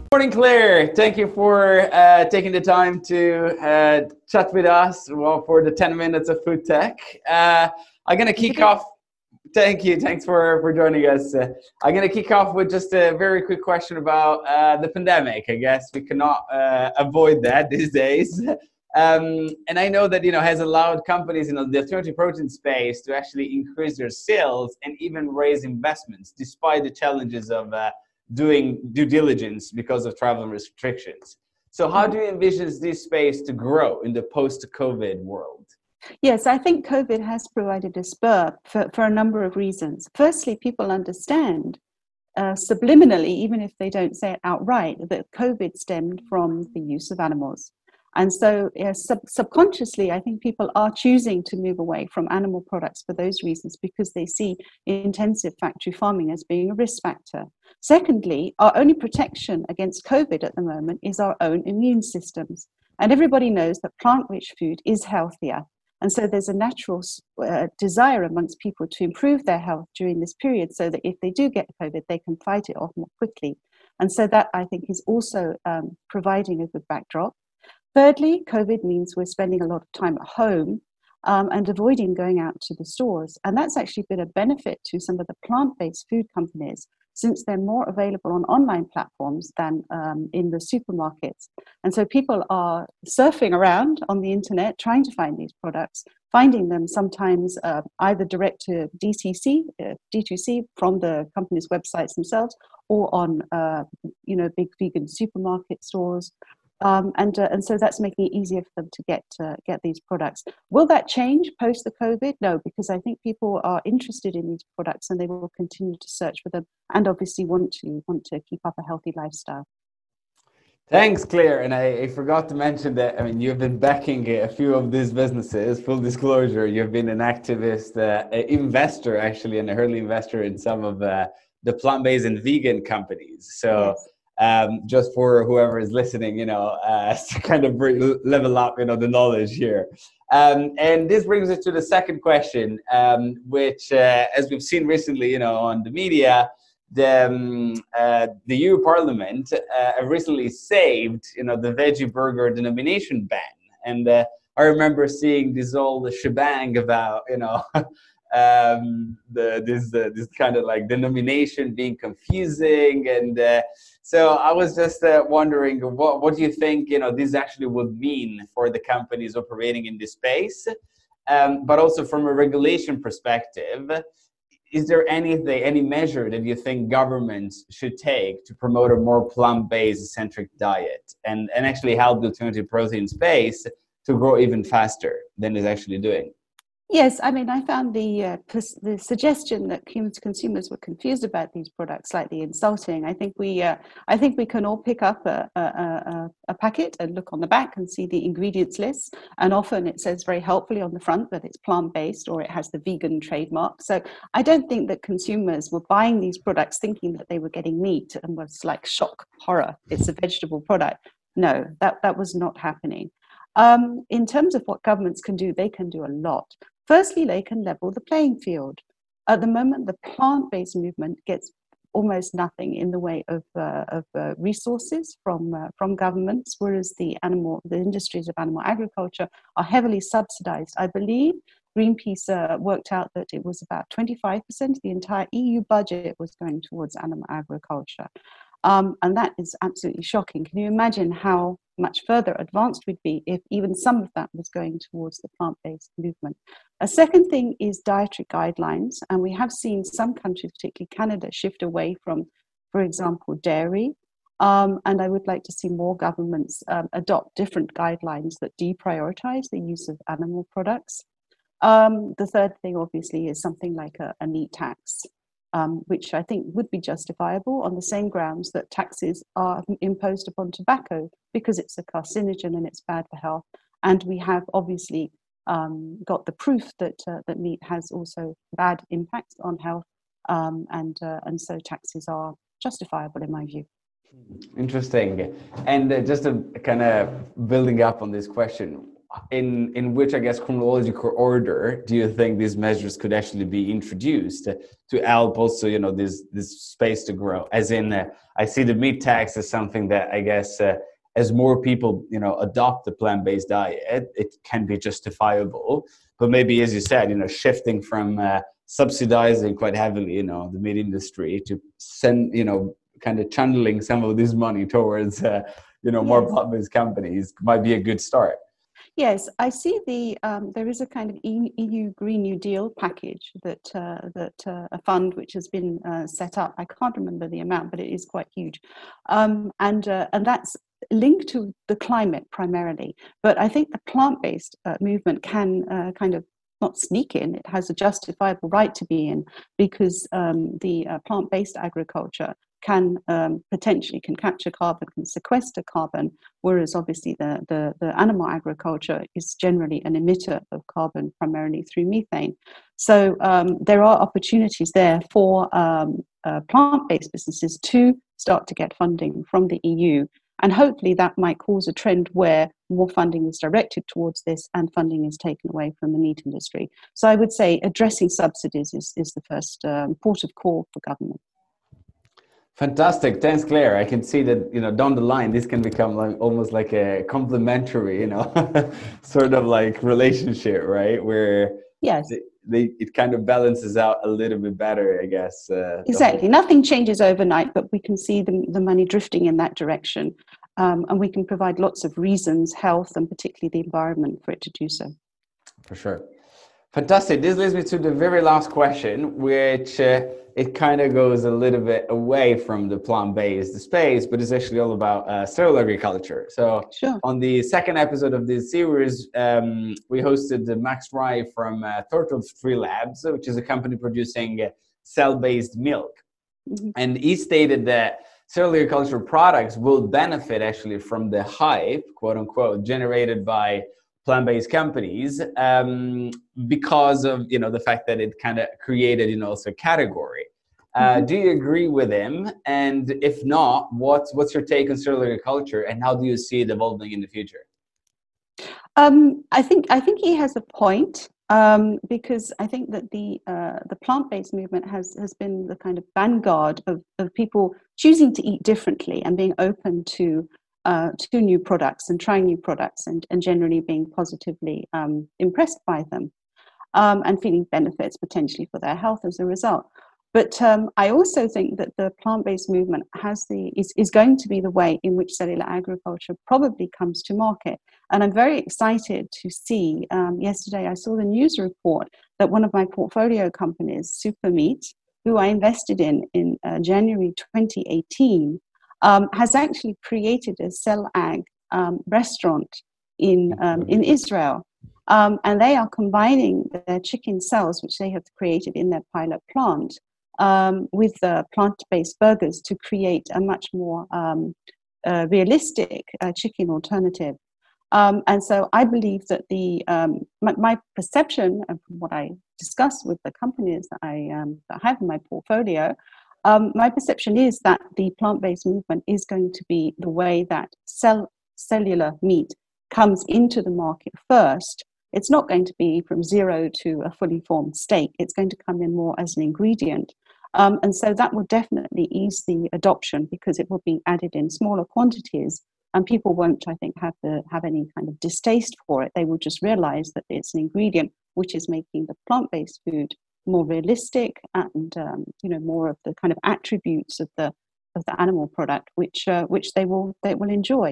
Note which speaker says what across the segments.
Speaker 1: Morning, Claire. Thank you for taking the time to chat with us for the 10 minutes of food tech. I'm going to kick off. Thank you. Thanks for joining us. I'm going to kick off with just a very quick question about the pandemic. I guess we cannot avoid that these days. And I know that, has allowed companies in the alternative protein space to actually increase their sales and even raise investments despite the challenges of doing due diligence because of travel restrictions. So how do you envision this space to grow in the post-COVID world?
Speaker 2: Yes, I think COVID has provided a spur for a number of reasons. Firstly, people understand subliminally, even if they don't say it outright, that COVID stemmed from the use of animals. And so subconsciously, I think people are choosing to move away from animal products for those reasons, because they see intensive factory farming as being a risk factor. Secondly, our only protection against COVID at the moment is our own immune systems. And everybody knows that plant-rich food is healthier. And so there's a natural desire amongst people to improve their health during this period, so that if they do get COVID, they can fight it off more quickly. And so that, I think, is also providing a good backdrop. Thirdly, COVID means we're spending a lot of time at home and avoiding going out to the stores. And that's actually been a benefit to some of the plant-based food companies, since they're more available on online platforms than in the supermarkets. And so people are surfing around on the internet, trying to find these products, finding them sometimes either direct to D2C from the company's websites themselves, or on big vegan supermarket stores. And so that's making it easier for them to get these products. Will that change post the COVID? No, because I think people are interested in these products and they will continue to search for them, and obviously want to keep up a healthy lifestyle.
Speaker 1: Thanks, Claire. And I forgot to mention that, you've been backing a few of these businesses. Full disclosure, you've been an activist, investor, actually, an early investor in some of the plant-based and vegan companies. So. Yes. Just for whoever is listening, to kind of level up, the knowledge here. And this brings us to the second question, which, as we've seen recently, on the media, the EU Parliament recently saved, the veggie burger denomination ban. And I remember seeing this whole shebang about, this kind of like denomination being confusing, and so I was just wondering, what do you think this actually would mean for the companies operating in this space, but also from a regulation perspective, is there any measure that you think governments should take to promote a more plant-based centric diet and actually help the alternative protein space to grow even faster than it's actually doing?
Speaker 2: Yes, I found the suggestion that consumers were confused about these products slightly insulting. I think we can all pick up a packet and look on the back and see the ingredients list, and often it says very helpfully on the front that it's plant-based or it has the vegan trademark. So I don't think that consumers were buying these products thinking that they were getting meat and was like shock horror. It's a vegetable product. No, that was not happening. In terms of what governments can do, they can do a lot. Firstly, they can level the playing field. At the moment, the plant-based movement gets almost nothing in the way of resources from governments, whereas the industries of animal agriculture are heavily subsidized. I believe Greenpeace worked out that it was about 25% of the entire EU budget was going towards animal agriculture. And that is absolutely shocking. Can you imagine how much further advanced we'd be if even some of that was going towards the plant-based movement? A second thing is dietary guidelines. And we have seen some countries, particularly Canada, shift away from, for example, dairy. And I would like to see more governments adopt different guidelines that deprioritize the use of animal products. The third thing, obviously, is something like a meat tax. Which I think would be justifiable on the same grounds that taxes are imposed upon tobacco, because it's a carcinogen and it's bad for health. And we have obviously got the proof that meat has also bad impacts on health, and so taxes are justifiable in my view.
Speaker 1: Interesting. And just to kind of building up on this question, in which, I guess, chronological order do you think these measures could actually be introduced to help also, this space to grow? As in, I see the meat tax as something that, I guess, as more people, adopt the plant-based diet, it can be justifiable. But maybe, as you said, shifting from subsidizing quite heavily, the meat industry to send, kind of channeling some of this money towards, more
Speaker 2: Yes.
Speaker 1: plant-based companies might be a good start.
Speaker 2: Yes, I see there is a kind of EU Green New Deal package that a fund which has been set up. I can't remember the amount, but it is quite huge, and that's linked to the climate primarily. But I think the plant-based movement can kind of not sneak in. It has a justifiable right to be in, because the plant-based agriculture can potentially can capture carbon, can sequester carbon, whereas obviously the animal agriculture is generally an emitter of carbon, primarily through methane. So there are opportunities there for plant-based businesses to start to get funding from the EU. And hopefully that might cause a trend where more funding is directed towards this and funding is taken away from the meat industry. So I would say addressing subsidies is the first port of call for government.
Speaker 1: Fantastic. Thanks, Claire. I can see that, down the line, this can become almost like a complementary, sort of like relationship, right? Where
Speaker 2: yes,
Speaker 1: it kind of balances out a little bit better, I guess.
Speaker 2: Exactly. Nothing changes overnight, but we can see the money drifting in that direction. And we can provide lots of reasons, health, and particularly the environment, for it to do so.
Speaker 1: For sure. Fantastic. This leads me to the very last question, which it kind of goes a little bit away from the plant-based space, but it's actually all about cellular agriculture. So
Speaker 2: Sure.
Speaker 1: on the second episode of this series, we hosted Max Rye from Turtle Tree Labs, which is a company producing cell-based milk. Mm-hmm. And he stated that cellular agriculture products will benefit actually from the hype, quote unquote, generated by plant-based companies because of the fact that it kind of created also a category. Do you agree with him? And if not, what's your take on cellular agriculture, and how do you see it evolving in the future?
Speaker 2: I think he has a point, because I think that the plant-based movement has been the kind of vanguard of people choosing to eat differently and being open to new products and trying new products and generally being positively impressed by them, and feeling benefits potentially for their health as a result. But I also think that the plant-based movement is going to be the way in which cellular agriculture probably comes to market. And I'm very excited to see, yesterday I saw the news report that one of my portfolio companies, Supermeat, who I invested in January 2018, has actually created a cell ag restaurant in Israel. And they are combining their chicken cells, which they have created in their pilot plant, with plant-based burgers to create a much more realistic chicken alternative. And so I believe that my perception, and from what I discussed with the companies that I have in my portfolio, my perception is that the plant-based movement is going to be the way that cellular meat comes into the market first. It's not going to be from zero to a fully formed steak. It's going to come in more as an ingredient. And so that will definitely ease the adoption, because it will be added in smaller quantities, and people won't, I think, have any kind of distaste for it. They will just realize that it's an ingredient which is making the plant-based food more realistic and more of the kind of attributes of the animal product which they will enjoy.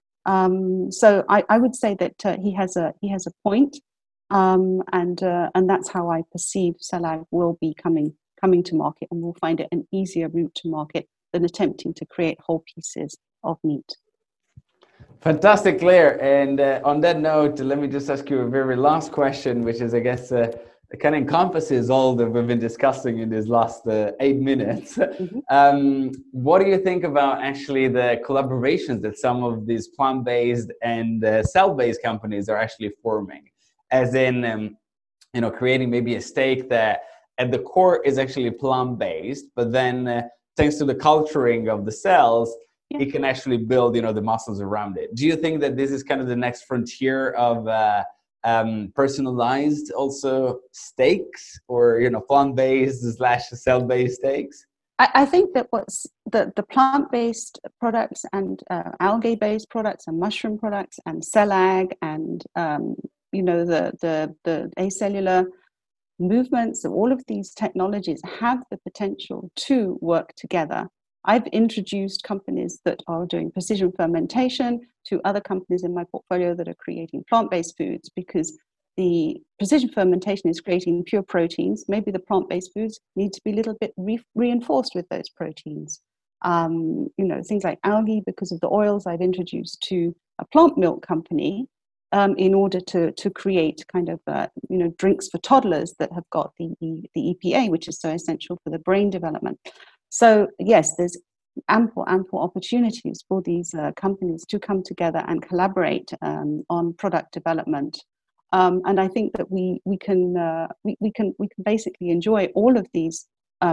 Speaker 2: So I would say that he has a point, and that's how I perceive CellAg will be coming to market, and we'll find it an easier route to market than attempting to create whole pieces of meat.
Speaker 1: Fantastic, Claire. And on that note, let me just ask you a very last question, which is, I guess, it kind of encompasses all that we've been discussing in these last 8 minutes. Mm-hmm. What do you think about actually the collaborations that some of these plant-based and cell-based companies are actually forming? As in, creating maybe a steak that at the core is actually plant-based, but then thanks to the culturing of the cells, it can actually build, the muscles around it. Do you think that this is kind of the next frontier of personalized also steaks, or plant-based / cell-based steaks?
Speaker 2: I think that what's the plant-based products and algae-based products and mushroom products and cell-ag and the acellular movements, all of these technologies have the potential to work together. I've introduced companies that are doing precision fermentation to other companies in my portfolio that are creating plant-based foods, because the precision fermentation is creating pure proteins. Maybe the plant-based foods need to be a little bit reinforced with those proteins. Things like algae, because of the oils I've introduced to a plant milk company in order to create kind of drinks for toddlers that have got the EPA, which is so essential for the brain development. So yes, there's ample opportunities for these companies to come together and collaborate on product development. And I think that we can basically enjoy all of these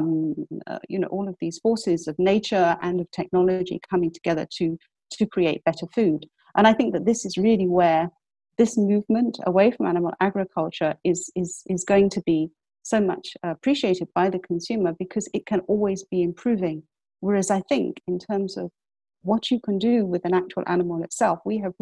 Speaker 2: all of these forces of nature and of technology coming together to create better food. And I think that this is really where this movement away from animal agriculture is going to be so much appreciated by the consumer, because it can always be improving. Whereas I think in terms of what you can do with an actual animal itself, we have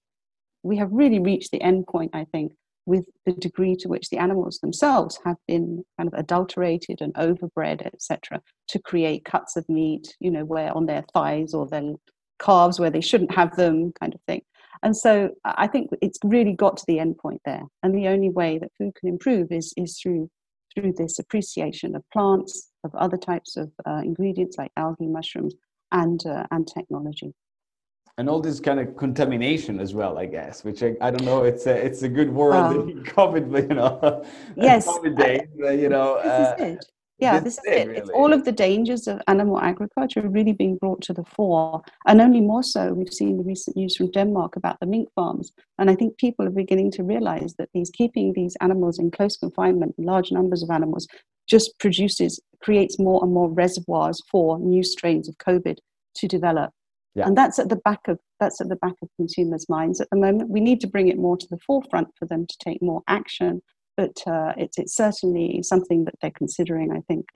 Speaker 2: really reached the end point, I think, with the degree to which the animals themselves have been kind of adulterated and overbred, etc., to create cuts of meat, where on their thighs or their calves where they shouldn't have them, kind of thing. And so I think it's really got to the end point there. And the only way that food can improve is through this appreciation of plants, of other types of ingredients like algae, mushrooms, and technology.
Speaker 1: And all this kind of contamination as well, I guess, which I don't know. It's a good word in COVID, but
Speaker 2: yes,
Speaker 1: COVID days.
Speaker 2: This is it. Yeah, this is it. Really. It's all of the dangers of animal agriculture really being brought to the fore, and only more so. We've seen the recent news from Denmark about the mink farms, and I think people are beginning to realize that keeping these animals in close confinement, large numbers of animals, just creates more and more reservoirs for new strains of COVID to develop. Yeah. And that's at the back of consumers' minds at the moment. We need to bring it more to the forefront for them to take more action. But it's certainly something that they're considering, I think,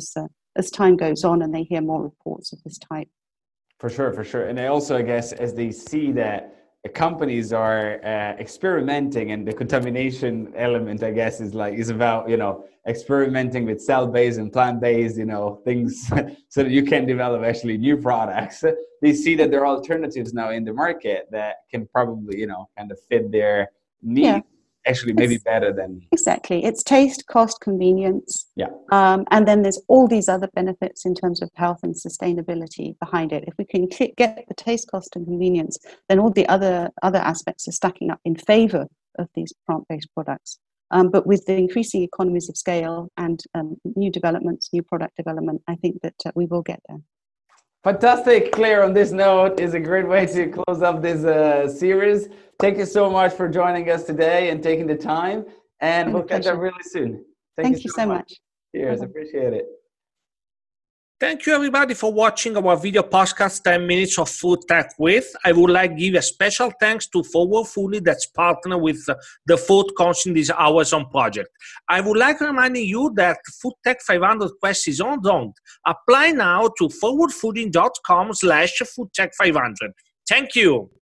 Speaker 2: as time goes on and they hear more reports of this type.
Speaker 1: For sure. And I guess, as they see that companies are experimenting, and the contamination element, I guess, is about, experimenting with cell-based and plant-based, things so that you can develop actually new products. They see that there are alternatives now in the market that can probably, kind of fit their needs. Yeah. Actually, maybe better than...
Speaker 2: Exactly. It's taste, cost, convenience.
Speaker 1: Yeah.
Speaker 2: And then there's all these other benefits in terms of health and sustainability behind it. If we can get the taste, cost, and convenience, then all the other aspects are stacking up in favor of these plant-based products. But with the increasing economies of scale and new developments, new product development, I think that we will get there.
Speaker 1: Fantastic, Claire. On this note, is a great way to close up this series. Thank you so much for joining us today and taking the time. And we'll catch up really soon.
Speaker 2: Thank you so much.
Speaker 1: Cheers. Appreciate it.
Speaker 3: Thank you, everybody, for watching our video podcast, 10 Minutes of Food Tech With. I would like to give a special thanks to Forward Fully, that's partner with the Food Council in this Amazon project. I would like to remind you that Food Tech 500 Quest is on. Apply now to forwardfooding.com/foodtech500. Thank you.